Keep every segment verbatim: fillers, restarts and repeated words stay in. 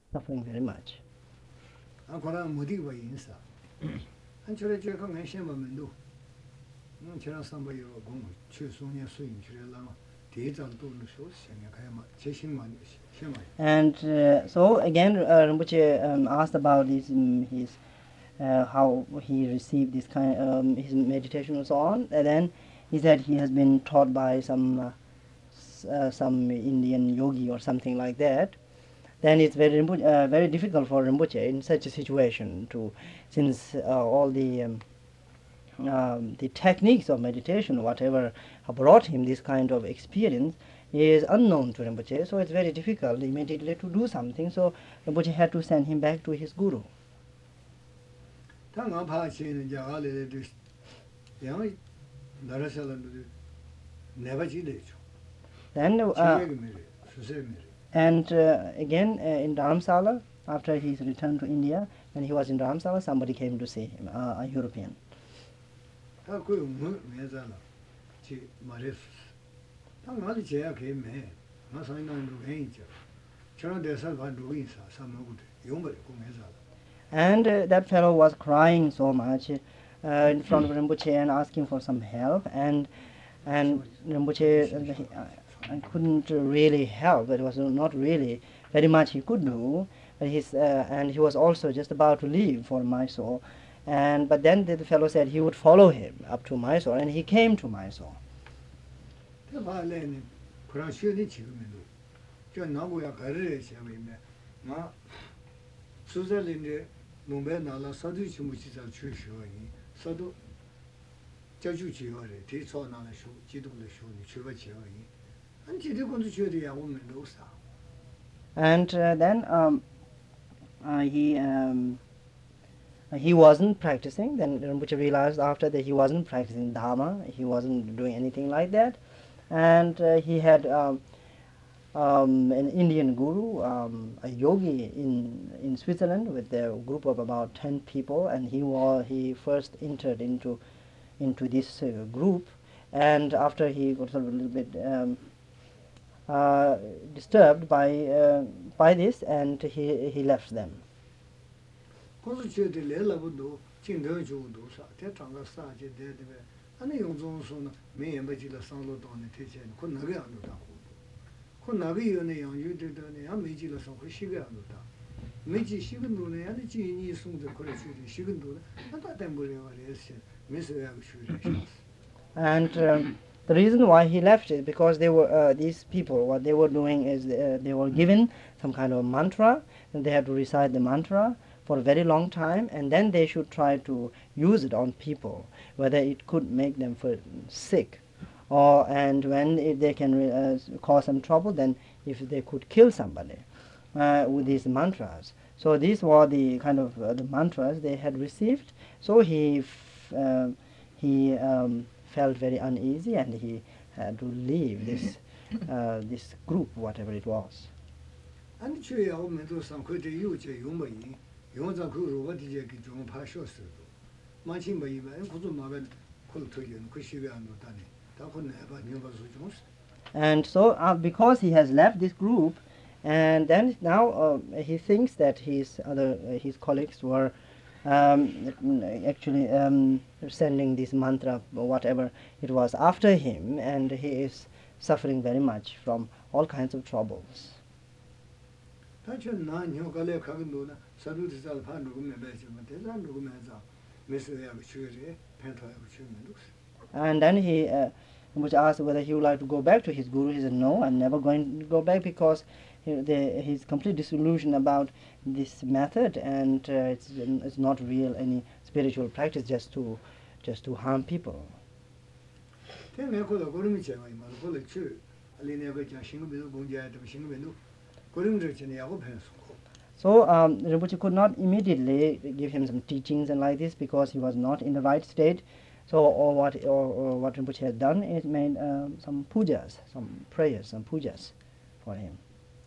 suffering very much. And uh, so again, uh, Rinpoche um, asked about his, um, his uh, how he received this kind, um, his meditation and so on. And then he said he has been taught by some uh, s- uh, some Indian yogi or something like that. Then it's very Rinpoche, uh, very difficult for Rinpoche in such a situation to, since uh, all the um, um, the techniques of meditation, whatever brought him this kind of experience, is unknown to Rinpoche, so it's very difficult immediately to do something. So Rinpoche had to send him back to his guru. Then, uh, and uh, again uh, in Dharamsala, after he's returned to India, when he was in Dharamsala, somebody came to see him, uh, a European. And uh, that fellow was crying so much uh, in front of Rinpoche and asking for some help, and and Rinpoche uh, he, uh, couldn't really help. It was not really very much he could do, but he's, uh, and he was also just about to leave for Mysore, and but then the, the fellow said he would follow him up to Mysore, and he came to Mysore. And uh, then um, uh, he um, he wasn't practicing. Then Rinpoche realized after that he wasn't practicing Dharma, he wasn't doing anything like that, and uh, he had um, um, an Indian guru, um, a yogi in in Switzerland with a group of about ten people, and he was he first entered into into this uh, group, and after he got sort of a little bit um, uh, disturbed by uh, by this, and he he left them. And um, the reason why he left is because they were uh, these people. What they were doing is uh, they were given some kind of mantra, and they had to recite the mantra for a very long time, and then they should try to use it on people, whether it could make them feel sick, or and when if they can uh, cause some trouble, then if they could kill somebody uh, with these mantras. So these were the kind of uh, the mantras they had received. So he f- uh, he um, felt very uneasy, and he had to leave this uh, this group, whatever it was. And so uh, because he has left this group, and then now uh, he thinks that his other uh, his colleagues were um, actually um, sending this mantra or whatever it was after him, and he is suffering very much from all kinds of troubles. And then he uh, was asked whether he would like to go back to his guru. He said, no, I'm never going to go back, because he, the, he's complete disillusion about this method, and uh, it's, it's not real any spiritual practice, just to just to harm people. So um, Rinpoche could not immediately give him some teachings and like this, because he was not in the right state. So or what or, or what Rinpoche had done is made um, some pujas, some prayers, some pujas for him.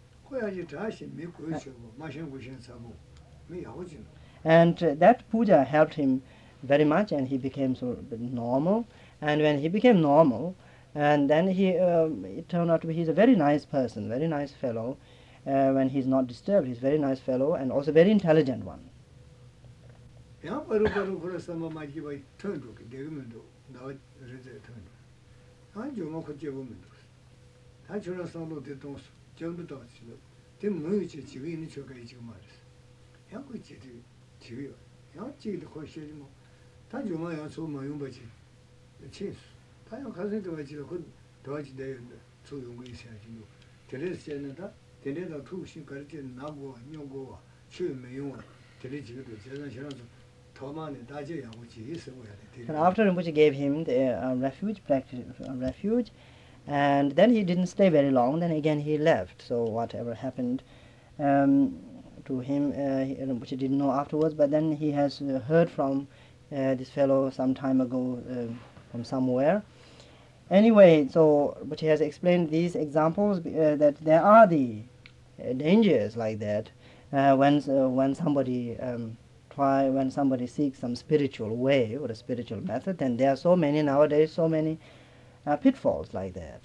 And uh, that puja helped him very much, and he became sort of normal. And when he became normal, and then he um, it turned out to be he's a very nice person, very nice fellow, uh, when he's not disturbed. He's a very nice fellow and also very intelligent one. And after Rinpoche gave him the uh, refuge, practice, uh, refuge, and then he didn't stay very long. Then again he left. So whatever happened um, to him, uh, he- Rinpoche didn't know afterwards. But then he has uh, heard from uh, this fellow some time ago uh, from somewhere. Anyway, so Rinpoche has explained these examples uh, that there are the uh, dangers like that uh, when uh, when somebody um, try when somebody seeks some spiritual way or a spiritual method, then there are so many nowadays, so many uh, pitfalls like that.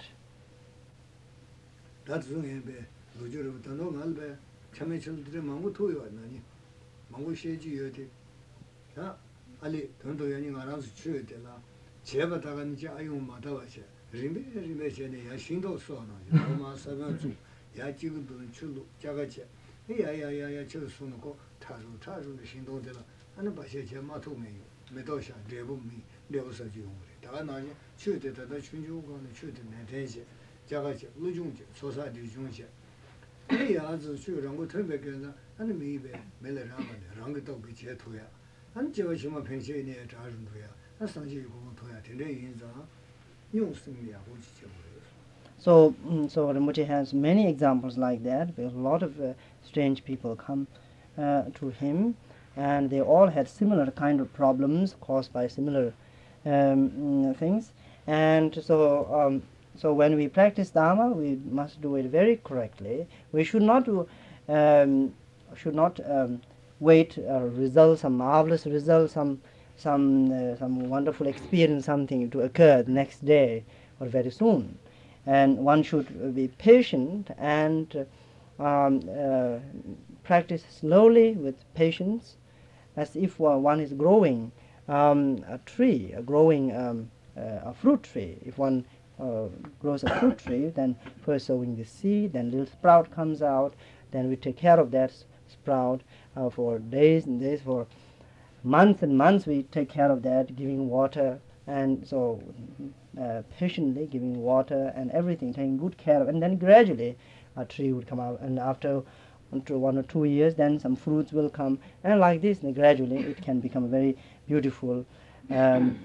So, mm, so Rinpoche has many examples like that, because a lot of uh, strange people come uh, to him, and they all had similar kind of problems caused by similar um, mm, things. And so, um, so when we practice Dharma, we must do it very correctly. We should not do, um, should not um, wait uh, results, some marvelous results, some some uh, some wonderful experience, something to occur the next day or very soon. And one should be patient and uh, um, uh, practice slowly with patience, as if uh, one is growing um, a tree, a growing um, uh, a fruit tree. If one uh, grows a fruit tree, then first sowing the seed, then little sprout comes out, then we take care of that s- sprout uh, for days and days, for months and months we take care of that, giving water, and so uh, patiently giving water and everything, taking good care of, and then gradually a tree would come out, and after after one or two years then some fruits will come, and like this and gradually it can become a very beautiful um,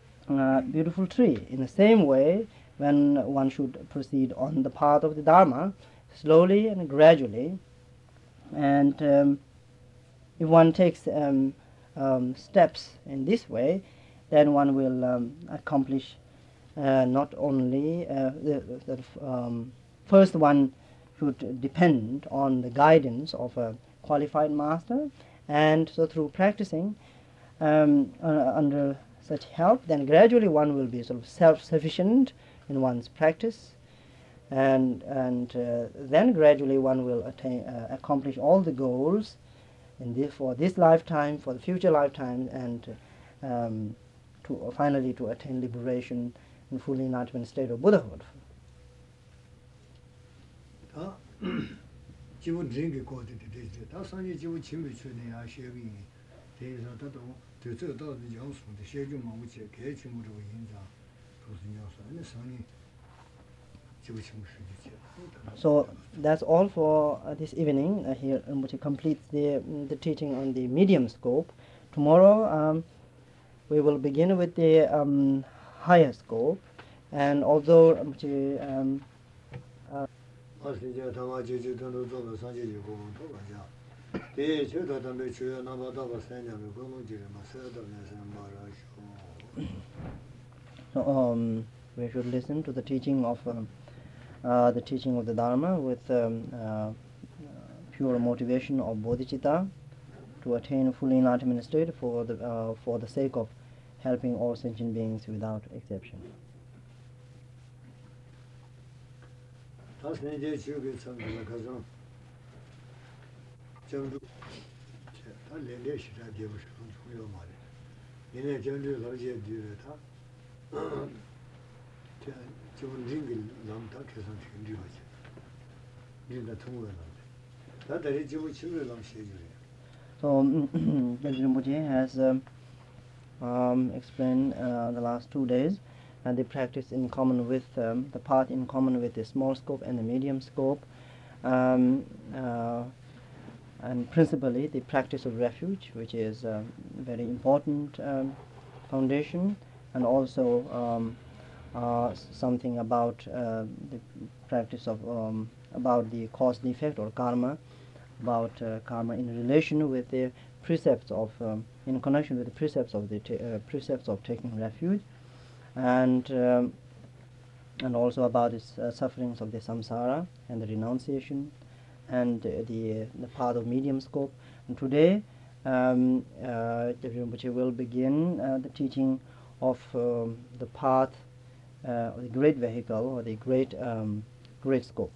uh, beautiful tree. In the same way, when one should proceed on the path of the Dharma, slowly and gradually, and um, if one takes um, um, steps in this way, then one will um, accomplish uh, not only uh, the, the um, first one should depend on the guidance of a qualified master, and so through practicing um, uh, under such help, then gradually one will be sort of self-sufficient in one's practice, and and uh, then gradually one will attain uh, accomplish all the goals in this, for this lifetime, for the future lifetime, and um, to uh, finally to attain liberation and full enlightenment state of Buddhahood. So that's all for uh, this evening. Uh, here Rinpoche completes the, mm, the teaching on the medium scope. Tomorrow um, we will begin with the um, higher scope, and although Rinpoche um, uh, so, um, we should listen to the teaching of um, uh, the teaching of the Dharma with um, uh, pure motivation of bodhicitta to attain full enlightenment state for the uh, for the sake of helping all sentient beings without exception. 정도 다 렌레시라 되고서 중요 말이 얘네 정도 로지에 뒤에다 저 좋은 링을 남다 계산 되는 거지 네가 통과해 다 다리 지고 친구를 남시해 So Rinpoche has um, um, explained uh, the last two days and the practice in common with um, the path in common with the small scope and the medium scope, um, uh, and principally the practice of refuge, which is a very important um, foundation, and also um, uh, something about uh, the practice of um, about the cause defect or karma, about uh, karma in relation with the precepts of um, in connection with the precepts of the ta- uh, precepts of taking refuge, and um, and also about the uh, sufferings of the samsara and the renunciation, and uh, the the path of medium scope. And today, um, uh, the Rinpoche will begin uh, the teaching of um, the path, uh, of the great vehicle or the great um, great scope.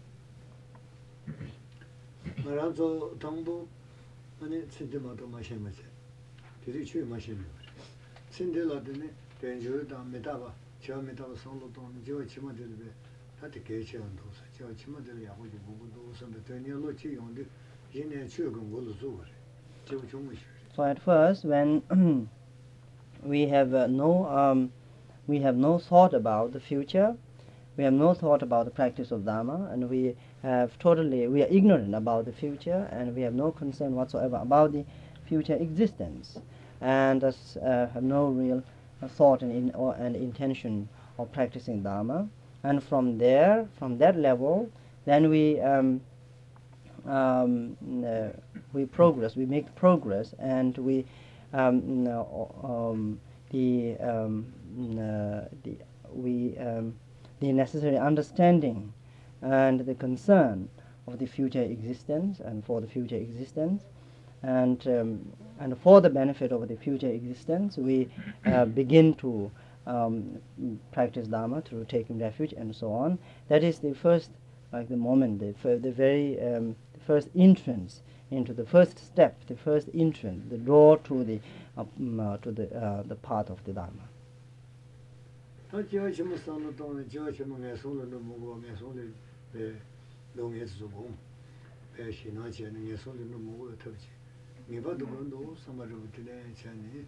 말아서 당도 아니 진짜마도 마셔마세. 되게 취해 마시는 거. 신들라더니 된주다 메다바 저 메다바 성로도 저 치마들베 다들 개체한도 저 치마들 야고지 보고도 선배 되니로 지용데 얘네 최근 걸로 줘. 저 정말 So at first, when we have uh, no um, we have no thought about the future, we have no thought about the practice of Dharma, and we have totally we are ignorant about the future, and we have no concern whatsoever about the future existence, and thus uh, have no real uh, thought and, in, or, and intention of practicing Dharma. And from there, from that level, then we um, um, uh, we progress, we make progress, and we um, no, um, the um, uh, the we um, the necessary understanding and the concern of the future existence and for the future existence, and um, and for the benefit of the future existence, we uh, begin to um, practice Dharma through taking refuge and so on. That is the first, like the moment, the, fir- the very um, the first entrance into the first step, the first entrance, the door to the uh, um, uh, to the uh, the path of the Dharma. 다 지어 치면 산도 동네 지어 치면 내 손으로 먹고 내 손에 배 농에서 보고 배 신화지는 내 손으로 먹고 터지. 네바도 건도 삼아로 되네 전에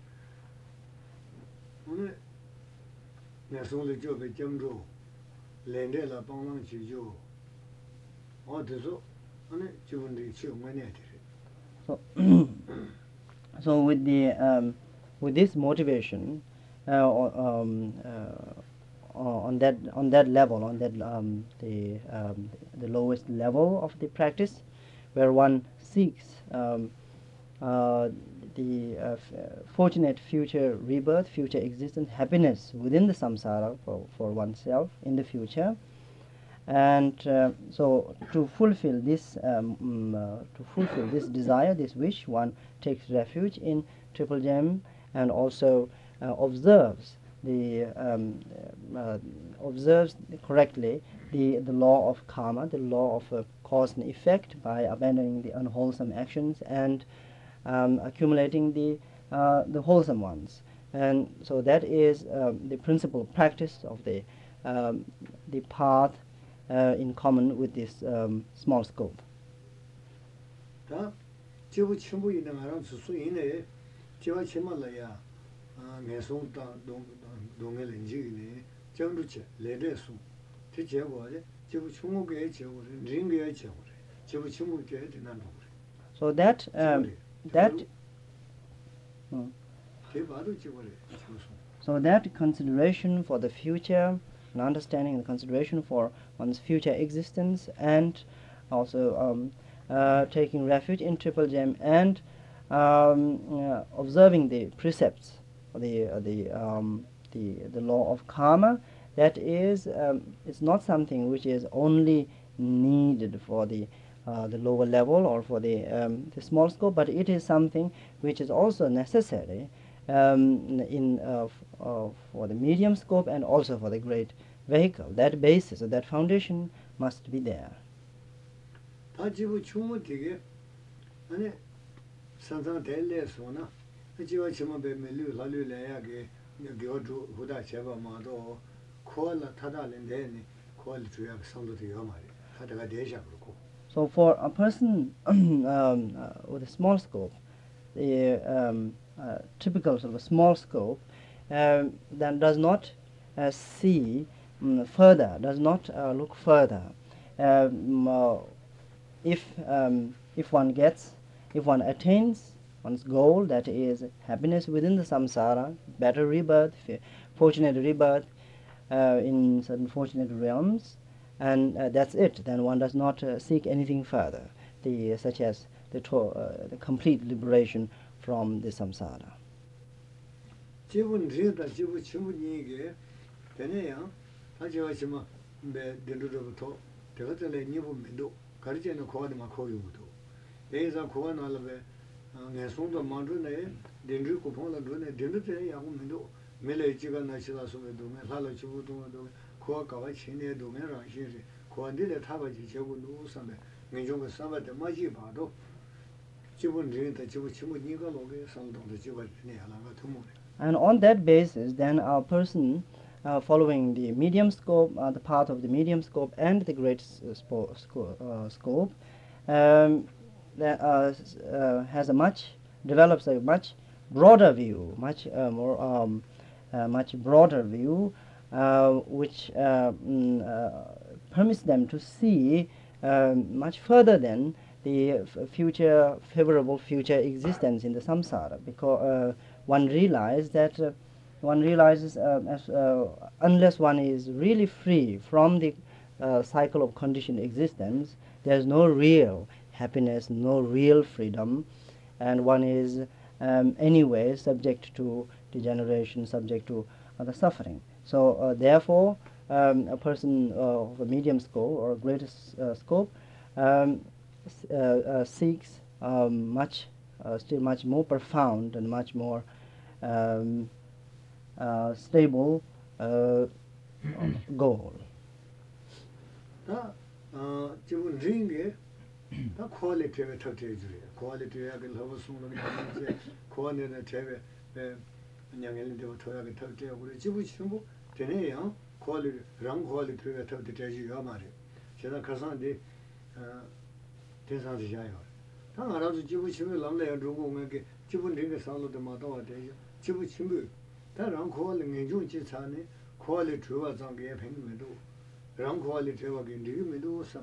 오늘 내 손으로 저배 점로 렌데라 방랑 지죠. 어디서 아니 지금도 지금 많이 해. So, so with the um, with this motivation, uh, o- um, uh, on that on that level, on that um, the um, the lowest level of the practice, where one seeks um, uh, the uh, f- uh, fortunate future rebirth, future existence, happiness within the samsara for, for oneself in the future. And uh, so to fulfill this um, mm, uh, to fulfill this desire, this wish, one takes refuge in Triple Gem, and also uh, observes the um, uh, observes correctly the the law of karma, the law of uh, cause and effect, by abandoning the unwholesome actions and um, accumulating the uh, the wholesome ones. And so that is um, the principal practice of the um, the path uh, in common with this um, small scope. 다 지부 전부 있는 거랑 수수 있네. 지와 치말라야. 아, 내송다 동 동에 렌지네. 정도체 레레수. 대제고에 지부 충무게 제고 링게 제고. 지부 충무게 되는 거. So that um, that hmm. 대바도 지고래. So that consideration for the future, and understanding and consideration for one's future existence, and also um, uh, taking refuge in Triple Gem, and um, uh, observing the precepts, the uh, the um, the the law of karma. That is, um, it's not something which is only needed for the uh, the lower level or for the um, the small scope, but it is something which is also necessary um, in uh, f- uh, for the medium scope and also for the great vehicle. That basis, or that foundation, must be there. 다 지부 충무 되게 아니 산상 델레소나 지와 치마 베멜루 라류레야게 교주 후다 제바 마도 코알라 타달인데니 코알 주야 상도도 요마리 하다가 대샤 그렇고. So for a person um, uh, with a small scope, the um, uh, typical sort of a small scope, um, then does not uh, see um, further, does not uh, look further. Um, uh, if um, if one gets, if one attains one's goal, that is happiness within the samsara, better rebirth, fortunate rebirth uh, in certain fortunate realms, and uh, that's it. Then one does not uh, seek anything further, the, such as the, to, uh, the complete liberation from the samsara. 지분 리다 지분 친구니게 되네요. 하지마 지마 배 덴루로부터 대가들에 니부면도 가르치는 고아들만 고유도. 대에서 고아나라베 내송도 만주네 덴루 고폰라 도네 덴루데 야고면도 메레지가 나시라 소메도 메살로 지부도도 고아가와 친내도 메라시리 고안들에 타바지 제고 누우선데 민중의 삼바데 마지 봐도 지분 리다 지분 친구니가 로게 상동도 지바네 하나가 투모네. And on that basis, then a person uh, following the medium scope, uh, the path of the medium scope and the great uh, spo- sco- uh, scope, um, that, uh, uh, has a much, develops a much broader view, much uh, more, um, uh, much broader view, uh, which uh, mm, uh, permits them to see uh, much further than the f- future, favorable future existence in the samsara, because uh, one realizes that uh, one realizes uh, as, uh, unless one is really free from the uh, cycle of conditioned existence, there is no real happiness, no real freedom, and one is um, anyway subject to degeneration, subject to other suffering. So uh, therefore, um, a person uh, of a medium scope or a greater s- uh, scope um, s- uh, uh, seeks um, much, uh, still much more profound and much more um, uh, stable uh, goal. 다 어, 지분 링게 다 퀄리티가 터트려줘요. 퀄리티가 그 러브송을 이제 퀄리티는 제베 에 그냥엘인데도 토야게 터트려 우리 지부 친구 되네요. 퀄리티 랑 퀄리티가 터트려줘요 말이에요. 제가 가서인데 어 대상지자요. 다 알아서 지부 친구 남래야 중국에게 지분 링게 상로도 마다와 돼요. 지부 친구 다랑 퀄리티 내중 지차네 퀄리티가 장게 팽면도 랑 퀄리티가 긴디면도 삼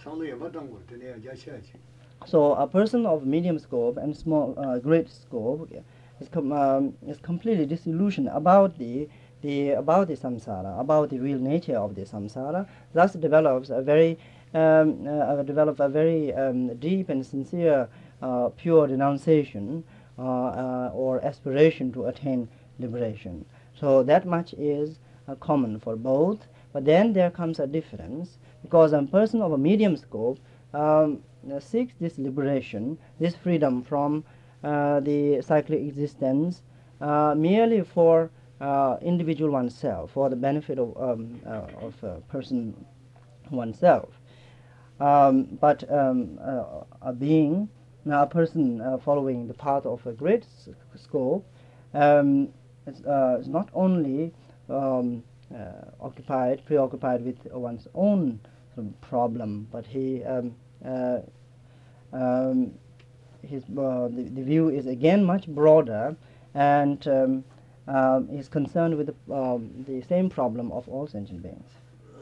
So a person of medium scope and small, uh, great scope is, com- um, is completely disillusioned about the, the about the samsara, about the real nature of the samsara. Thus develops a very um, uh, develop a very um, deep and sincere, uh, pure denunciation uh, uh, or aspiration to attain liberation. So that much is uh, common for both. But then there comes a difference, because a person of a medium scope um, uh, seeks this liberation, this freedom from uh, the cyclic existence uh, merely for uh, individual oneself, for the benefit of, um, uh, of a person oneself. Um, but um, uh, a being, a person uh, following the path of a great s- scope um, is, uh, is not only um, uh, occupied, preoccupied with one's own sort of problem, but he um, uh, um, his uh, the, the view is again much broader, and um, um, is concerned with the, um, the same problem of all sentient beings.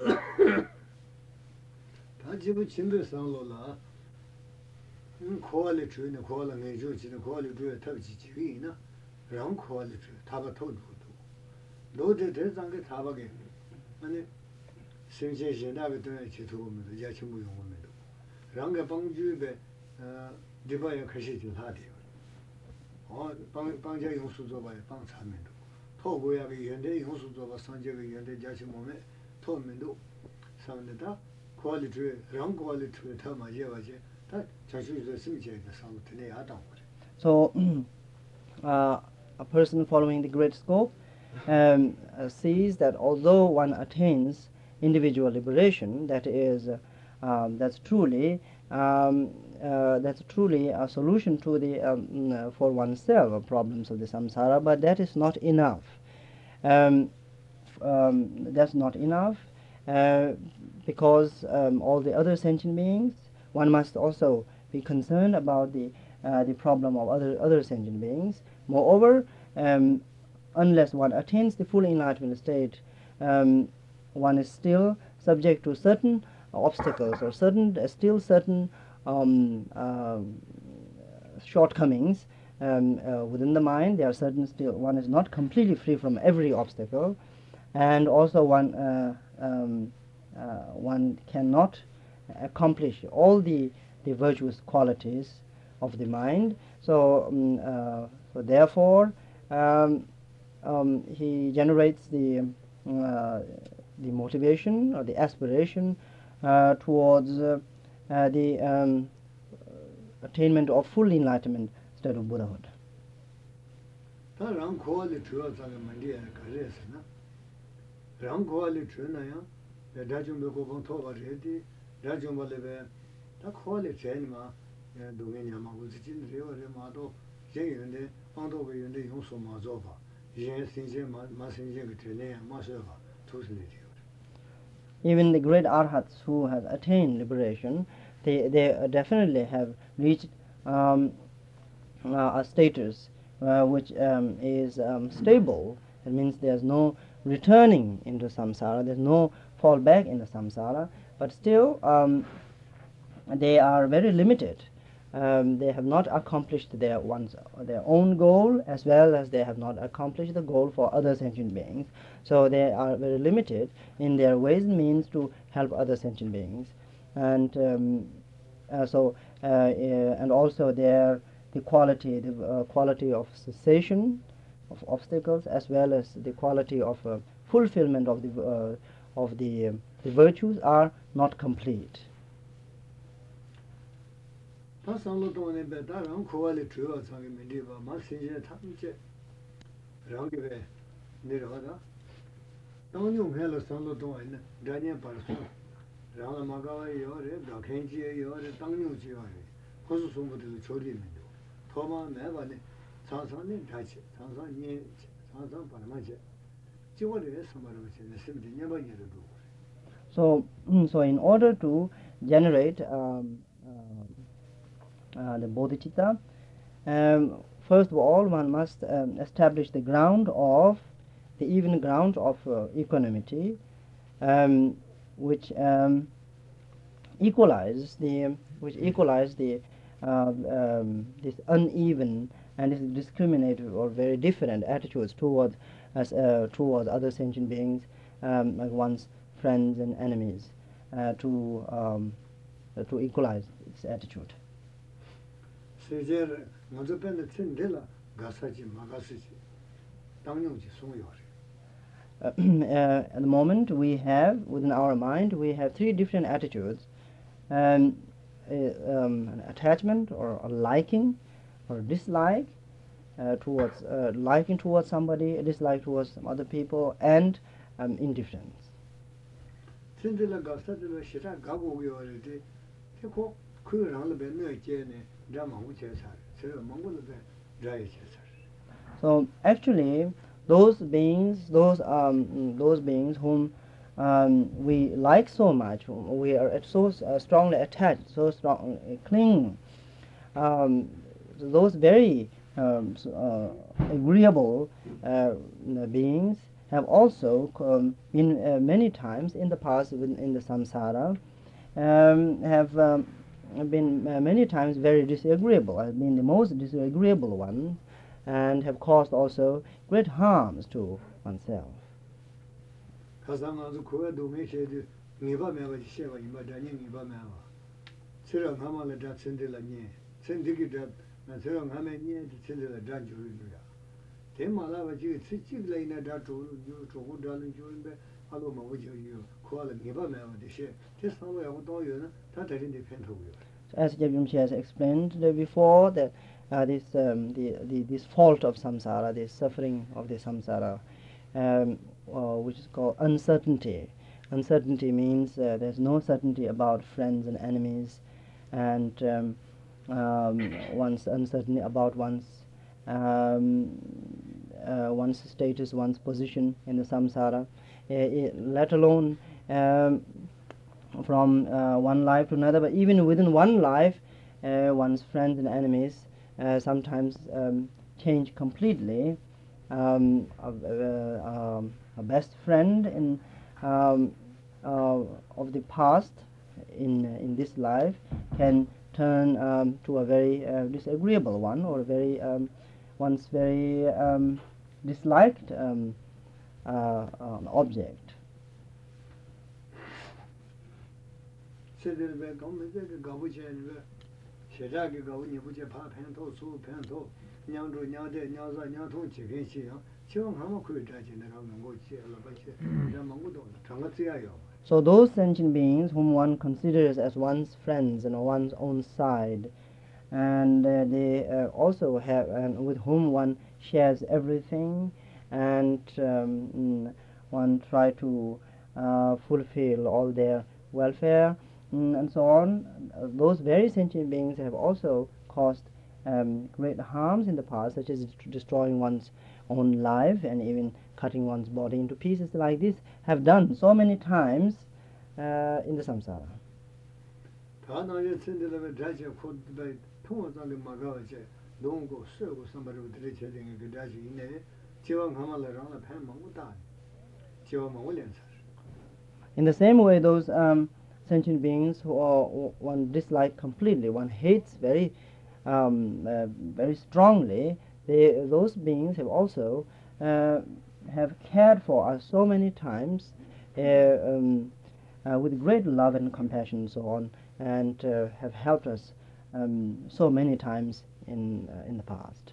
다 지부 친구 상로라 음 퀄리티는 퀄리티 내주지는 퀄리티에 탑지 지위나 랑 퀄리티 타바 토도 로데 대상게 타바게 아니 생제신다게 되 지도면 야친구 용원에도 랑게 방주베 어 디바에 가시지 하디요 어 방방자 용수조 바에 방 참면도 토고야게 연대 용수조 바 상제게 연대 자치 몸에 토면도 상내다 퀄리티 랑 퀄리티에 더 맞아야지 다 자주도 심지에 상태에 하다 So uh, a person following the great scope um, uh, sees that although one attains individual liberation, that is, uh, um, that's truly um, uh, uh, that's truly a solution to the um, uh, for oneself uh, problems of the samsara, but that is not enough. Um, um, that's not enough uh, because um, all the other sentient beings, one must also be concerned about the uh, the problem of other other sentient beings. Moreover, um, unless one attains the full enlightenment state, um, one is still subject to certain obstacles or certain uh, still certain um, uh, shortcomings um, uh, within the mind. There are certain still one is not completely free from every obstacle, and also one uh, um, uh, one cannot accomplish all the the virtuous qualities of the mind. So, um, uh, so therefore, um, um, he generates the uh, the motivation or the aspiration uh, towards uh, uh, the um, attainment of full enlightenment state of Buddhahood. 다 랑 코알리 주어 자가 만디에 가르스나 랑 코알리 주나야 다좀 보고 본 토가 레디 다좀 벌레베 다 코알리 제니마 동행이야마 우지진 레어레 마도 제인데 방도베 연데 용소 마조바 예 신제 마 신제 그 되네 마셔바 투스네디요. Even the great arhats who have attained liberation, they they definitely have reached um, uh, a status uh, which um, is um, stable. It means there's no returning into samsara, there's no fall back into samsara, but still um, they are very limited. Um, they have not accomplished their one's, their own goal, as well as they have not accomplished the goal for other sentient beings. So they are very limited in their ways and means to help other sentient beings, and um, uh, so uh, uh, and also their the quality the uh, quality of cessation of obstacles, as well as the quality of uh, fulfillment of the uh, of the, um, the virtues are not complete. 다 상로 동안에 배다랑 코알리 주어 자기 민디바 마 신제 탐제 랑게베 내려가다 당뇨 해로 상로 동안에 다니에 벌써 랑아 마가와에 요래 다켄지에 요래 당뇨지 요래 거수 송부들 조리면도 토마 매바네 상상네 다치 상상니 상상 바나마제 지원에 선발하면서 심지 내바니도. So so in order to generate um, uh, Uh, the bodhicitta, um, first of all one must um, establish the ground of the even ground of uh, equanimity, um, which um, equalize the which equalize the uh, um, this uneven and this discriminative or very different attitudes towards as uh, towards other sentient beings, um, like one's friends and enemies, uh, to um, uh, to equalize its attitude. 세제 먼저 뺀데 틴데라 가사지 마가시지 당용지 송요래. At the moment we have within our mind we have three different attitudes, um, uh, um, an attachment or a liking or dislike uh, towards uh, liking towards somebody, a dislike towards some other people, and um, indifference. 틴데라 가사지로 시라 가고 요래데 태고 그랑을 벤네 제네. So actually, those beings, those um, those beings whom um, we like so much, whom we are so uh, strongly attached, so strong uh, cling, um, those very um, uh, agreeable uh, beings have also um, been uh, many times in the past in, in the samsara, um, have. Um, have been uh, many times very disagreeable, have been the most disagreeable one, and have caused also great harms to oneself. As Jabimchi has explained before, that uh, this um, the, the this fault of samsara, this suffering of the samsara, um, uh, which is called uncertainty. Uncertainty means uh, there's no certainty about friends and enemies, and um, um, one's uncertainty about one's um, uh, one's status, one's position in the samsara, uh, uh, let alone um, from uh, one life to another, but even within one life, uh, one's friends and enemies uh, sometimes um, change completely. Um, a, uh, um, a best friend in um, uh, of the past in in this life can turn um, to a very uh, disagreeable one, or very um, once very um, disliked um, uh, um, object. 세대를 왜 검은색을 가보지는 왜 세자기 가고 니부제 파편도 수편도 냥도 냥대 냥사 냥통 지gen시요 지금 한번 그 자진을 하는 거지 알아봐지 내가 먹고도 장가지야요. So those sentient beings whom one considers as one's friends and one's own side, and uh, they uh, also have, and with whom one shares everything, and um, one try to uh, fulfill all their welfare, mm, and so on. Uh, those very sentient beings have also caused um, great harms in the past, such as destroying one's own life and even cutting one's body into pieces like this, have done so many times uh, in the samsara. In the same way, those um, sentient beings who are, one dislike completely, one hates very, um, uh, very strongly, they, those beings have also uh, have cared for us so many times uh, um, uh, with great love and compassion and so on, and uh, have helped us um, so many times in uh, in the past.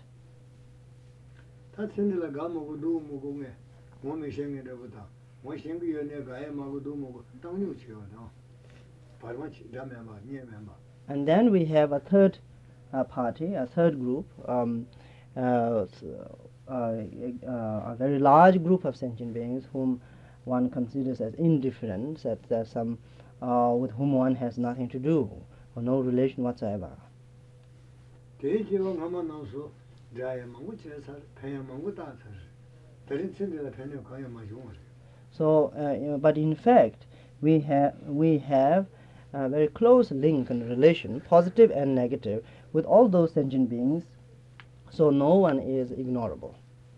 And then we have a third uh, party, a third group, um, uh, uh, uh, a very large group of sentient beings whom one considers as indifferent, that there's some uh, with whom one has nothing to do, or no relation whatsoever. So, uh, you know, but in fact, we have we have a very close link and relation, positive and negative, with all those sentient beings. So no one is ignorable.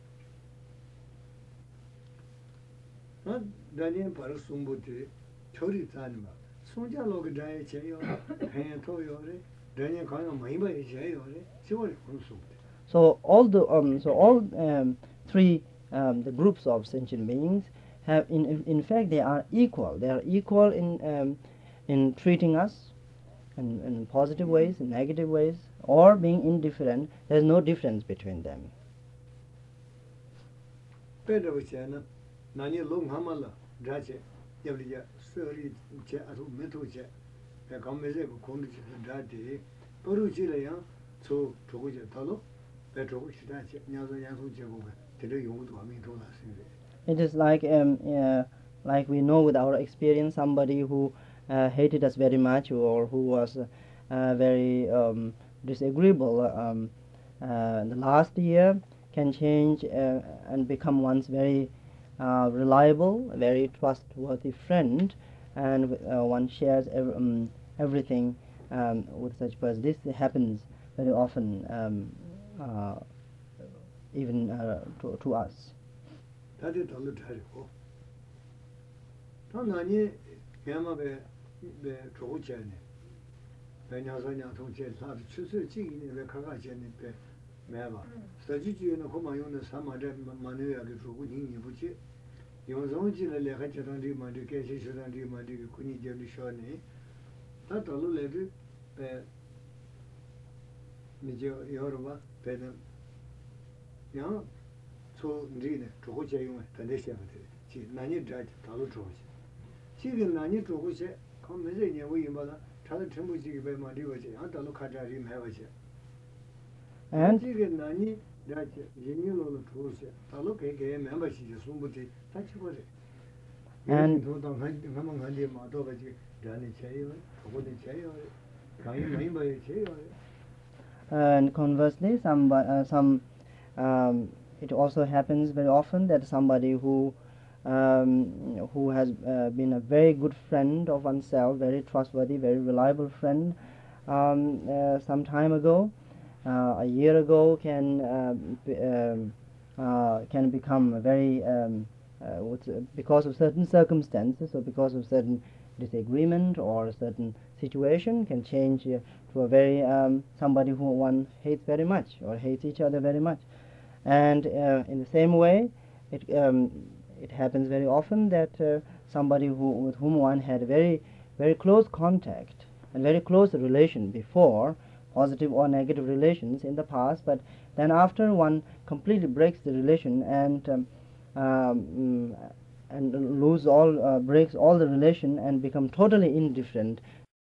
So all the um, so all um, three um, the groups of sentient beings have in in fact they are equal. They are equal in um, in treating us in, in positive ways, in negative ways, or being indifferent. There is no difference between them. It is like um, uh, like we know with our experience, somebody who uh, hated us very much, or who was uh, uh, very um, disagreeable um, uh, in the last year, can change uh, and become one's very uh, reliable, very trustworthy friend, and uh, one shares ev- um, everything um, with such person. This happens very often, um, uh, even uh, to, to us. so ndine trogo che yung tande she mate chi nani drat talu trogo che chi nani trogo che kom me je ne wo yin ba la ta de tenbu ji be ma ri wo che an talu kha ja ri me wa che and chi ge nani drat yin yin lo lo trogo che talu ke ge me ba chi je sum bu ti ta chi bo re and do da han ma ma han de ma do ba ji dani che yo trogo de che yo ga yin mai ba che yo And conversely, some uh, some um, it also happens very often that somebody who um, who has uh, been a very good friend of oneself, very trustworthy, very reliable friend, um, uh, some time ago, uh, a year ago, can uh, b- um, uh, can become a very um, uh, what's, uh, because of certain circumstances or because of certain disagreement or a certain situation, can change uh, to a very um, somebody who one hates very much or hates each other very much. And uh, in the same way, it um, it happens very often that uh, somebody who with whom one had very very close contact and very close relation before, positive or negative relations in the past, but then after one completely breaks the relation and um, um, and lose all uh, breaks all the relation and become totally indifferent